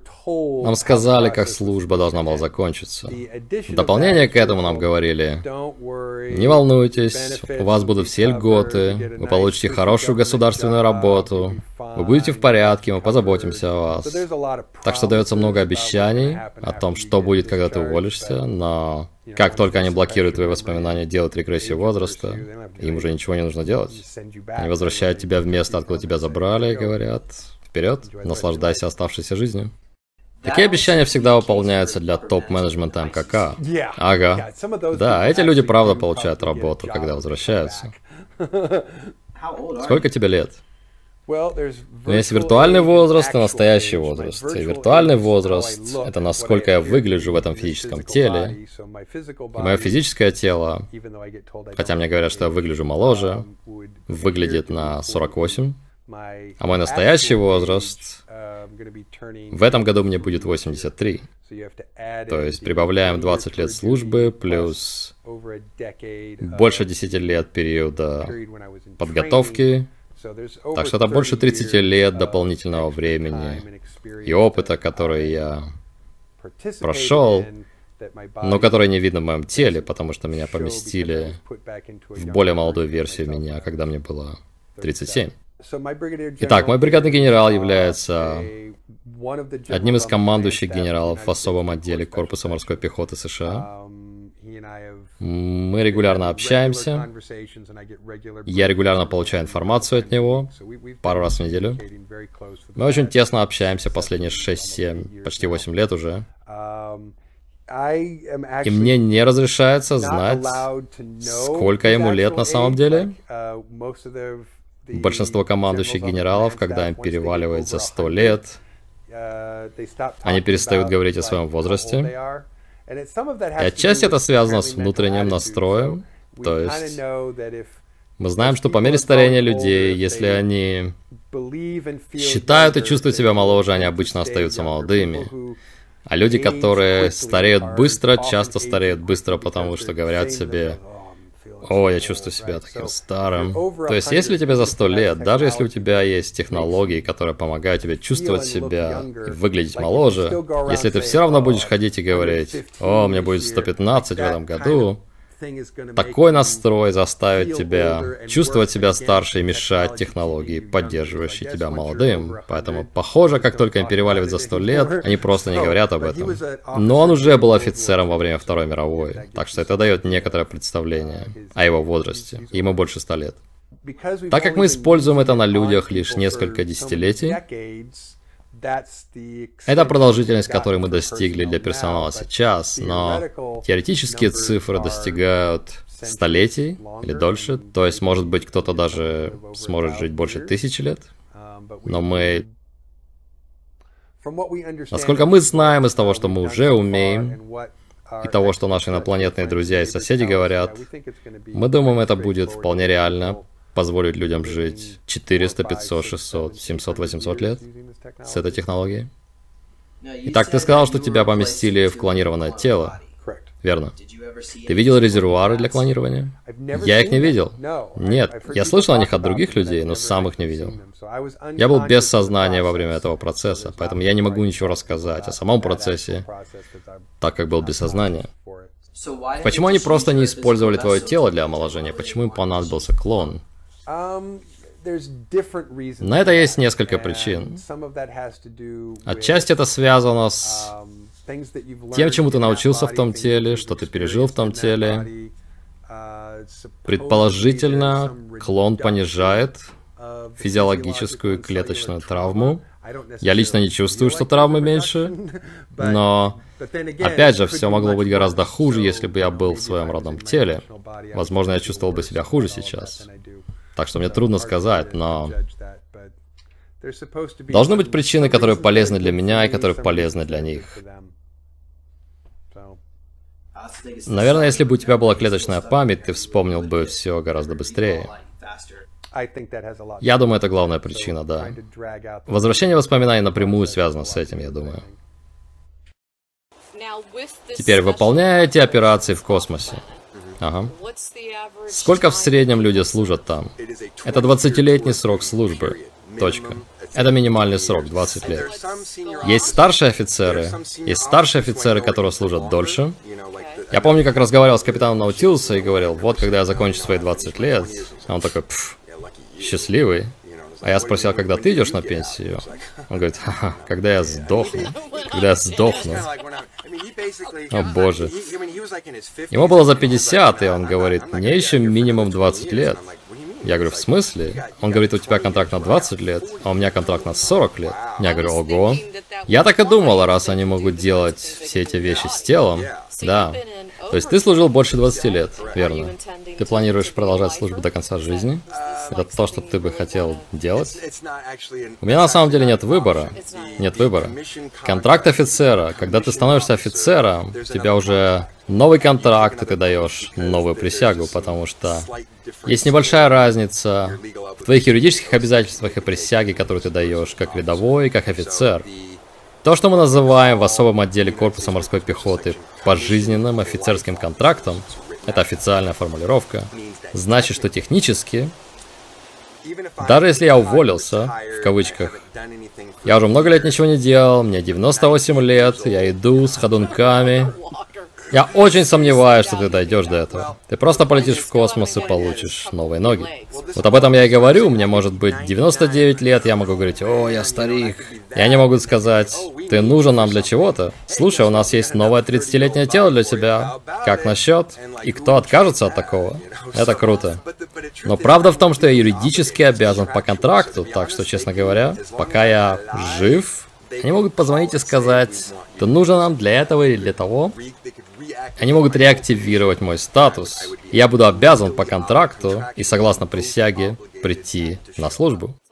Нам сказали, как служба должна была закончиться. В дополнение к этому нам говорили: не волнуйтесь, у вас будут все льготы, вы получите хорошую государственную работу, вы будете в порядке, мы позаботимся о вас. Так что дается много обещаний о том, что будет, когда ты уволишься, но как только они блокируют твои воспоминания, делают регрессию возраста, им уже ничего не нужно делать. Они возвращают тебя в место, откуда тебя забрали, и говорят: вперед, наслаждайся оставшейся жизнью. Такие обещания всегда выполняются для топ-менеджмента МКК. Ага. Да, эти люди правда получают работу, когда возвращаются. Сколько тебе лет? Есть виртуальный возраст и настоящий возраст. И виртуальный возраст — это насколько я выгляжу в этом физическом теле. И мое физическое тело, хотя мне говорят, что я выгляжу моложе, выглядит на 48. А мой настоящий возраст, в этом году мне будет 83. То есть прибавляем 20 лет службы плюс больше 10 лет периода подготовки. Так что это больше 30 лет дополнительного времени и опыта, который я прошел, но который не видно в моем теле, потому что меня поместили в более молодую версию меня, когда мне было 37. Итак, мой бригадный генерал является одним из командующих генералов в особом отделе Корпуса морской пехоты США. Мы регулярно общаемся. Я регулярно получаю информацию от него, пару раз в неделю. Мы очень тесно общаемся последние 6-7, почти 8 лет уже. И мне не разрешается знать, сколько ему лет на самом деле. Большинство командующих генералов, когда им переваливает за 100 лет, они перестают говорить о своем возрасте. И отчасти это связано с внутренним настроем. То есть мы знаем, что по мере старения людей, если они считают и чувствуют себя моложе, они обычно остаются молодыми. А люди, которые стареют быстро, часто стареют быстро, потому что говорят себе: «О, я чувствую себя таким старым». То есть, если тебе за 100 лет, даже если у тебя есть технологии, которые помогают тебе чувствовать себя и выглядеть моложе, если ты все равно будешь ходить и говорить: «О, мне будет 115 в этом году», такой настрой заставит тебя чувствовать себя старше и мешать технологии, поддерживающие тебя молодым. Поэтому, похоже, как только им переваливает за 100 лет, они просто не говорят об этом. Но он уже был офицером во время Второй мировой, так что это дает некоторое представление о его возрасте. Ему больше 100 лет. Так как мы используем это на людях лишь несколько десятилетий, это продолжительность, которой мы достигли для персонала сейчас, но теоретические цифры достигают столетий или дольше, то есть, может быть, кто-то даже сможет жить больше 1000 лет, но мы... Насколько мы знаем из того, что мы уже умеем, и того, что наши инопланетные друзья и соседи говорят, мы думаем, это будет вполне реально позволить людям жить 400, 500, 600, 700, 800 лет с этой технологией. Итак, ты сказал, что тебя поместили в клонированное тело, верно? Ты видел резервуары для клонирования? Я их не видел. Нет, я слышал о них от других людей, но сам их не видел. Я был без сознания во время этого процесса, поэтому я не могу ничего рассказать о самом процессе, так как был без сознания. Почему они просто не использовали твое тело для омоложения? Почему им понадобился клон? На это есть несколько причин. Отчасти это связано с тем, чему ты научился в том теле, что ты пережил в том теле. Предположительно, клон понижает физиологическую клеточную травму. Я лично не чувствую, что травмы меньше, но, опять же, все могло быть гораздо хуже, если бы я был в своем родном теле. Возможно, я чувствовал бы себя хуже сейчас. Так что мне трудно сказать, но... Должны быть причины, которые полезны для меня и которые полезны для них. Наверное, если бы у тебя была клеточная память, ты вспомнил бы все гораздо быстрее. Я думаю, это главная причина, да. Возвращение воспоминаний напрямую связано с этим, я думаю. Теперь, выполняя эти операции в космосе. Ага. Сколько в среднем люди служат там? Это 20-летний срок службы. Точка. Это минимальный срок, 20 лет. Есть старшие офицеры, которые служат дольше. Я помню, как разговаривал с капитаном Наутилуса и говорил, вот когда я закончу свои 20 лет, а он такой, счастливый. А я спросил, когда ты идешь на пенсию? Он говорит, ха-ха, когда я сдохну. Когда я сдохну. О боже. Ему было за 50, и он говорит, мне еще минимум 20 лет. Я говорю, в смысле? Он говорит, у тебя контракт на 20 лет, а у меня контракт на 40 лет. Я говорю, ого. Я так и думал, раз они могут делать все эти вещи с телом. Да. То есть ты служил больше 20 лет, верно? Ты планируешь продолжать службу до конца жизни? Это то, что ты бы хотел делать? У меня на самом деле нет выбора. Нет выбора. Контракт офицера. Когда ты становишься офицером, у тебя уже новый контракт, и ты даешь новую присягу, потому что есть небольшая разница в твоих юридических обязательствах и присяге, которую ты даешь как рядовой, как офицер. То, что мы называем в особом отделе корпуса морской пехоты пожизненным офицерским контрактом, это официальная формулировка, значит, что технически, даже если я уволился, в кавычках, я уже много лет ничего не делал, мне 98 лет, я иду с ходунками. Я очень сомневаюсь, что ты дойдешь до этого. Ты просто полетишь в космос и получишь новые ноги. Вот об этом я и говорю. Мне может быть 99 лет, я могу говорить, о, я старик. И они могут сказать, ты нужен нам для чего-то. Слушай, у нас есть новое 30-летнее тело для тебя. Как насчет? И кто откажется от такого? Это круто. Но правда в том, что я юридически обязан по контракту, так что, честно говоря, пока я жив, они могут позвонить и сказать, ты нужен нам для этого или для того. Они могут реактивировать мой статус. Я буду обязан по контракту и согласно присяге прийти на службу.